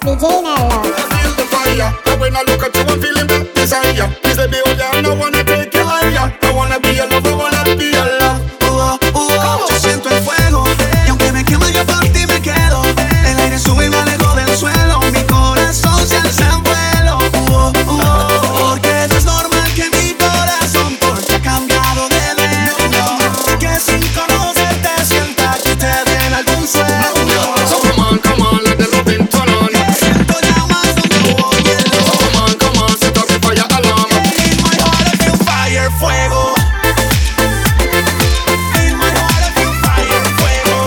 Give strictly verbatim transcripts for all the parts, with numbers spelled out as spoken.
D J Nello. I feel the fire, and when I look at you, I'm feeling that desire. Is the baby, I don't wanna take you higher. I wanna be your love, I wanna be your love. Uh, uh, yo siento el fuego, y aunque me quema yo por ti me quedo. El aire sube y me alejo del suelo. Mi corazón se alza en vuelo. Uh, uh, porque no es normal que mi corazón porque ha cambiado de dueño. Que sin conocerte sienta que te den algún sueño. So come on, come on, let the loving turn on. Siento llamas donde voy el So come on, come on, set up the fire alarm. In my heart I feel fire, fuego. In my heart I feel fire, fuego.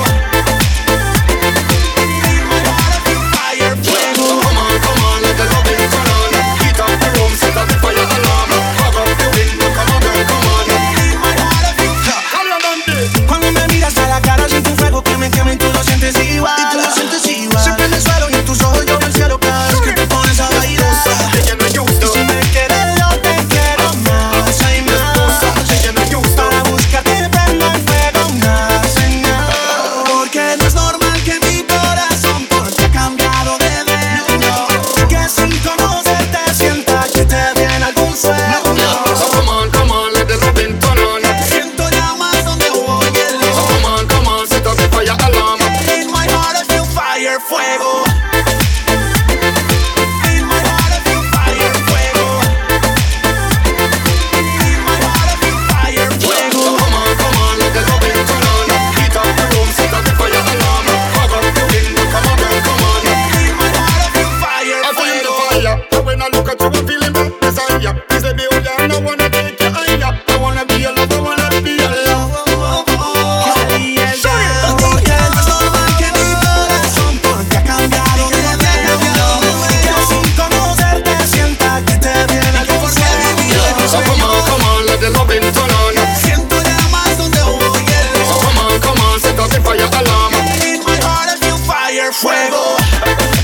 In my heart I feel fire, fuego. So come on, come on, let the loving turn on. Heat up the room, set up the fire alarm. Hug up the window, come on, girl, come on. In my heart I feel fire. Come on, Dundee. Cuando me miras a la cara siento un fuego que me quema y tú lo sientes igual. Y tú lo sientes igual. Se prende el suelo y en tus ojos yo veo el cielo cada vez que te pones a bailar. Ella no es justo. Y si me quieres yo te quiero más, hay más. Ella no es justo. Para buscarte prendo el fuego, una señal. Porque no es normal que mi corazón porque ha cambiado de dueño. Que sin conocerte sienta que te viene algún sueño. So come on, come on, let the loving turn on. Siento llamas donde voy el So come on, come on, set up the fire alarm. In my heart I feel fire, fuego. In my heart I feel fire, fuego. In my heart I feel fire, So fuego. come on, come on, let the loving turn on. Heat up the room, set up the fire alarm. Hug up the window, come on, girl, come on. In my heart I feel fire, I feel the fuego. fire, and when I look at you, I'm feeling that desire. Is the baby, I don't wanna take you higher. I wanna be your love, I wanna be your love. Ahí es ya. Porque no es normal que mi corazón porque ha cambiado de dueño. Que sin conocerte sienta que te viene algún sueño. So come on, come on, let the loving turn on. Siento llamas donde voy So come on, come on, set up the fire alarm. In my heart I feel fire, fuego.